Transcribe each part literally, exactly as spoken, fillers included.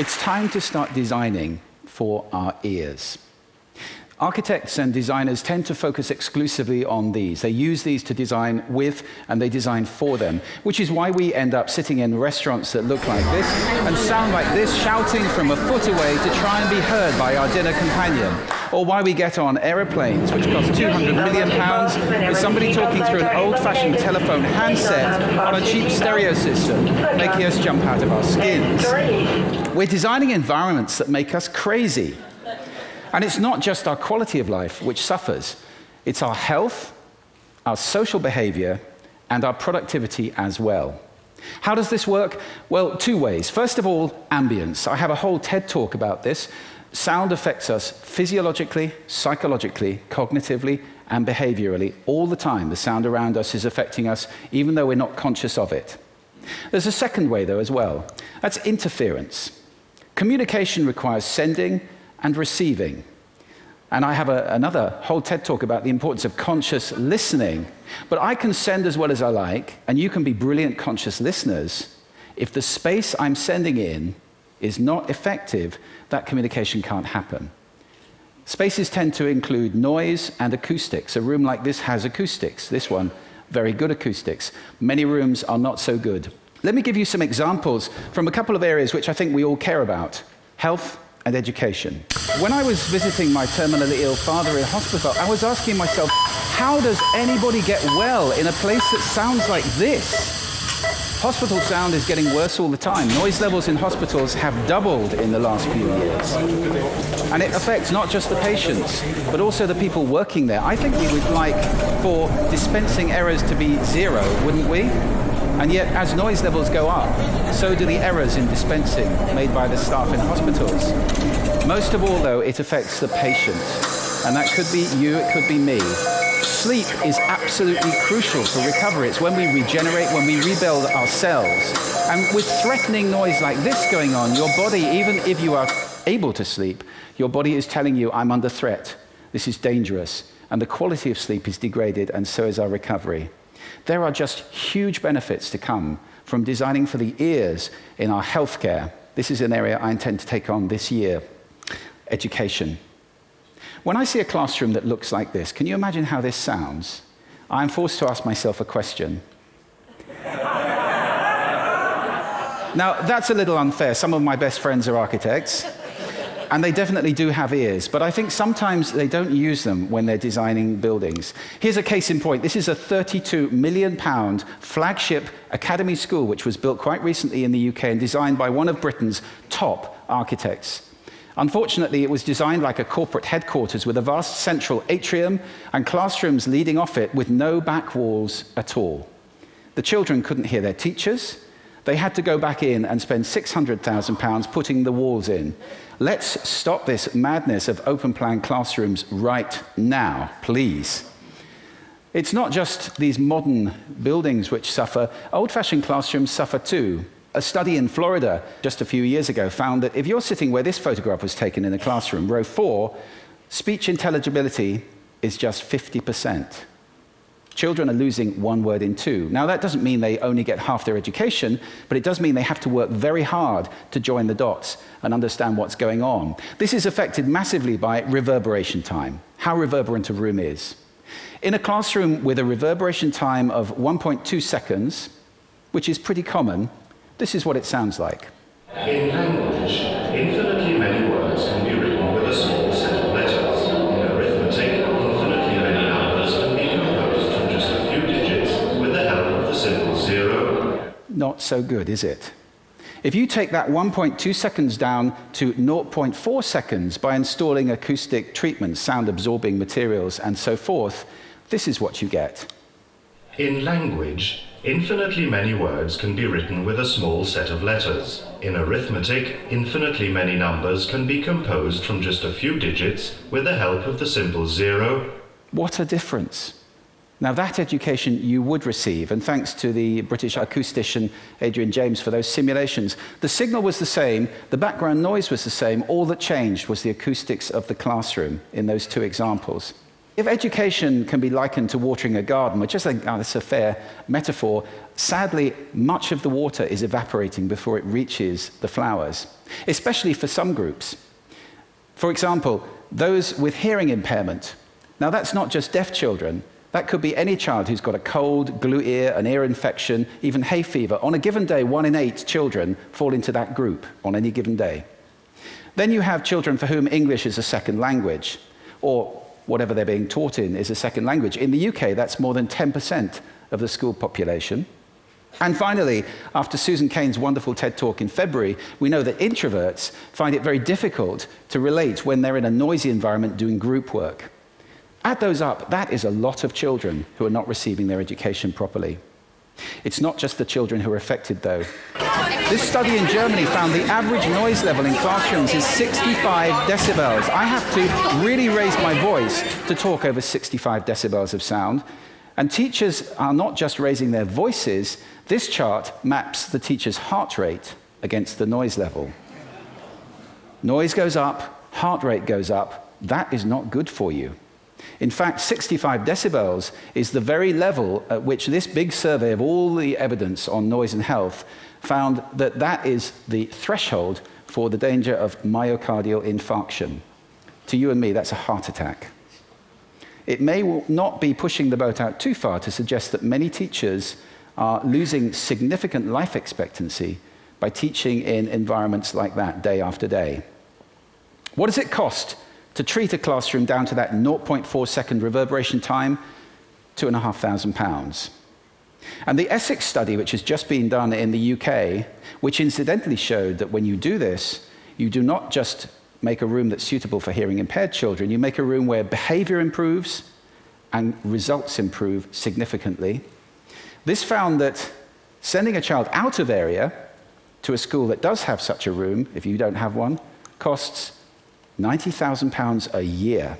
It's time to start designing for our ears. Architects and designers tend to focus exclusively on these. They use these to design with, and they design for them, which is why we end up sitting in restaurants that look like this and sound like this, shouting from a foot away to try and be heard by our dinner companion. Or why we get on aeroplanes, which cost two hundred million pounds, with somebody talking through an old-fashioned telephone handset on a cheap stereo system, making us jump out of our skins. We're designing environments that make us crazy. And it's not just our quality of life which suffers. It's our health, our social behavior, and our productivity as well. How does this work? Well, two ways. First of all, ambience. I have a whole TED talk about this. Sound affects us physiologically, psychologically, cognitively, and behaviorally all the time. The sound around us is affecting us, even though we're not conscious of it. There's a second way, though, as well. That's interference. Communication requires sending and receiving. And I have a, another whole TED talk about the importance of conscious listening. But I can send as well as I like, and you can be brilliant conscious listeners. If the space I'm sending in is not effective, that communication can't happen. Spaces tend to include noise and acoustics. A room like this has acoustics. This one, very good acoustics. Many rooms are not so good. Let me give you some examples from a couple of areas which I think we all care about: health and education. When I was visiting my terminally ill father in hospital, I was asking myself, how does anybody get well in a place that sounds like this? Hospital sound is getting worse all the time. Noise levels in hospitals have doubled in the last few years. And it affects not just the patients, but also the people working there. I think we would like for dispensing errors to be zero, wouldn't we? And yet, as noise levels go up, so do the errors in dispensing made by the staff in hospitals. Most of all, though, it affects the patient. And that could be you, it could be me. Sleep is absolutely crucial for recovery. It's when we regenerate, when we rebuild our cells. And with threatening noise like this going on, your body, even if you are able to sleep, your body is telling you, I'm under threat. This is dangerous. And the quality of sleep is degraded, and so is our recovery. There are just huge benefits to come from designing for the ears in our healthcare. This is an area I intend to take on this year. Education. When I see a classroom that looks like this, can you imagine how this sounds? I'm forced to ask myself a question. Now, that's a little unfair. Some of my best friends are architects, and they definitely do have ears, but I think sometimes they don't use them when they're designing buildings. Here's a case in point. This is a thirty-two million pound flagship academy school, which was built quite recently in the U K and designed by one of Britain's top architects. Unfortunately, it was designed like a corporate headquarters with a vast central atrium and classrooms leading off it with no back walls at all. The children couldn't hear their teachers. They had to go back in and spend six hundred thousand pounds putting the walls in. Let's stop this madness of open-plan classrooms right now, please. It's not just these modern buildings which suffer. Old-fashioned classrooms suffer too. A study in Florida just a few years ago found that if you're sitting where this photograph was taken in a classroom, row four, speech intelligibility is just fifty percent. Children are losing one word in two. Now, that doesn't mean they only get half their education, but it does mean they have to work very hard to join the dots and understand what's going on. This is affected massively by reverberation time, how reverberant a room is. In a classroom with a reverberation time of one point two seconds, which is pretty common, this is what it sounds like. In language, infinitely many words can be written with a small set of letters. In arithmetic, infinitely many numbers can be composed from just a few digits with the help of the simple zero. Not so good, is it? If you take that one point two seconds down to zero point four seconds by installing acoustic treatments, sound-absorbing materials, and so forth, this is what you get. In language, infinitely many words can be written with a small set of letters. In arithmetic, infinitely many numbers can be composed from just a few digits with the help of the simple zero. What a difference. Now, that education you would receive, and thanks to the British acoustician Adrian James for those simulations. The signal was the same, the background noise was the same, all that changed was the acoustics of the classroom in those two examples. If education can be likened to watering a garden, which I think oh, that's a fair metaphor, sadly, much of the water is evaporating before it reaches the flowers, especially for some groups. For example, those with hearing impairment. Now, that's not just deaf children. That could be any child who's got a cold, glue ear, an ear infection, even hay fever. On a given day, one in eight children fall into that group on any given day. Then you have children for whom English is a second language, or whatever they're being taught in is a second language. In the U K, that's more than ten percent of the school population. And finally, after Susan Cain's wonderful TED Talk in February, we know that introverts find it very difficult to relate when they're in a noisy environment doing group work. Add those up, that is a lot of children who are not receiving their education properly. It's not just the children who are affected, though. This study in Germany found the average noise level in classrooms is sixty-five decibels. I have to really raise my voice to talk over sixty-five decibels of sound. And teachers are not just raising their voices. This chart maps the teacher's heart rate against the noise level. Noise goes up, heart rate goes up. That is not good for you. In fact, sixty-five decibels is the very level at which this big survey of all the evidence on noise and health found that that is the threshold for the danger of myocardial infarction. To you and me, that's a heart attack. It may not be pushing the boat out too far to suggest that many teachers are losing significant life expectancy by teaching in environments like that day after day. What does it cost to treat a classroom down to that zero point four second reverberation time? Two and a half thousand pounds. And the Essex study, which has just been done in the U K, which incidentally showed that when you do this, you do not just make a room that's suitable for hearing impaired children, you make a room where behavior improves and results improve significantly. This found that sending a child out of area to a school that does have such a room, if you don't have one, costs ninety thousand pounds a year.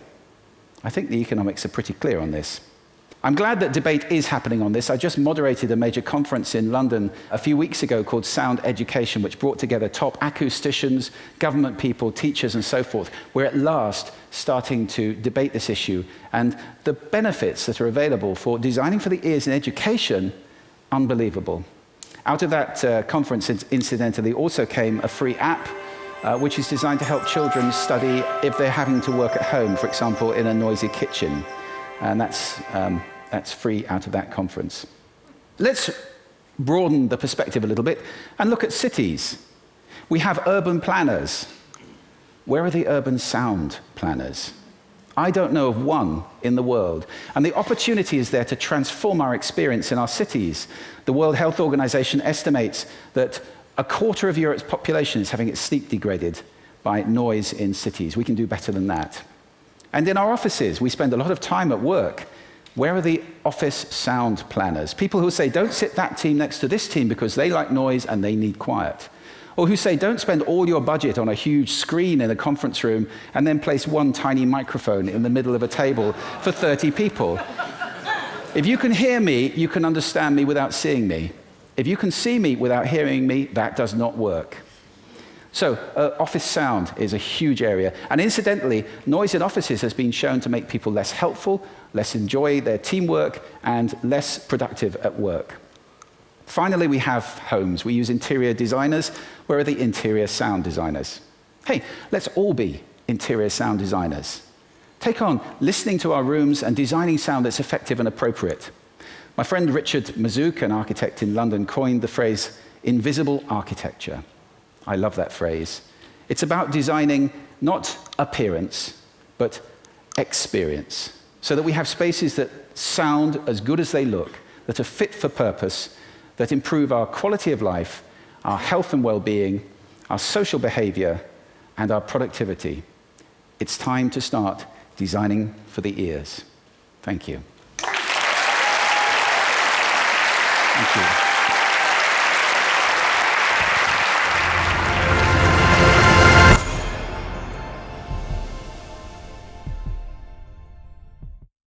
I think the economics are pretty clear on this. I'm glad that debate is happening on this. I just moderated a major conference in London a few weeks ago called Sound Education, which brought together top acousticians, government people, teachers, and so forth. We're at last starting to debate this issue, and the benefits that are available for designing for the ears in education, unbelievable. Out of that uh, conference, incidentally, also came a free app Uh, which is designed to help children study if they're having to work at home, for example, in a noisy kitchen. And that's, um, that's free out of that conference. Let's broaden the perspective a little bit and look at cities. We have urban planners. Where are the urban sound planners? I don't know of one in the world. And the opportunity is there to transform our experience in our cities. The World Health Organization estimates that a quarter of Europe's population is having its sleep degraded by noise in cities. We can do better than that. And in our offices, we spend a lot of time at work. Where are the office sound planners? People who say, don't sit that team next to this team because they like noise and they need quiet. Or who say, don't spend all your budget on a huge screen in a conference room and then place one tiny microphone in the middle of a table for thirty people. If you can hear me, you can understand me without seeing me. If you can see me without hearing me, that does not work. So, uh, office sound is a huge area. And incidentally, noise in offices has been shown to make people less helpful, less enjoy their teamwork, and less productive at work. Finally, we have homes. We use interior designers. Where are the interior sound designers? Hey, let's all be interior sound designers. Take on listening to our rooms and designing sound that's effective and appropriate. My friend Richard Mazouk, an architect in London, coined the phrase invisible architecture. I love that phrase. It's about designing not appearance, but experience, so that we have spaces that sound as good as they look, that are fit for purpose, that improve our quality of life, our health and well-being, our social behavior, and our productivity. It's time to start designing for the ears. Thank you. Thank you.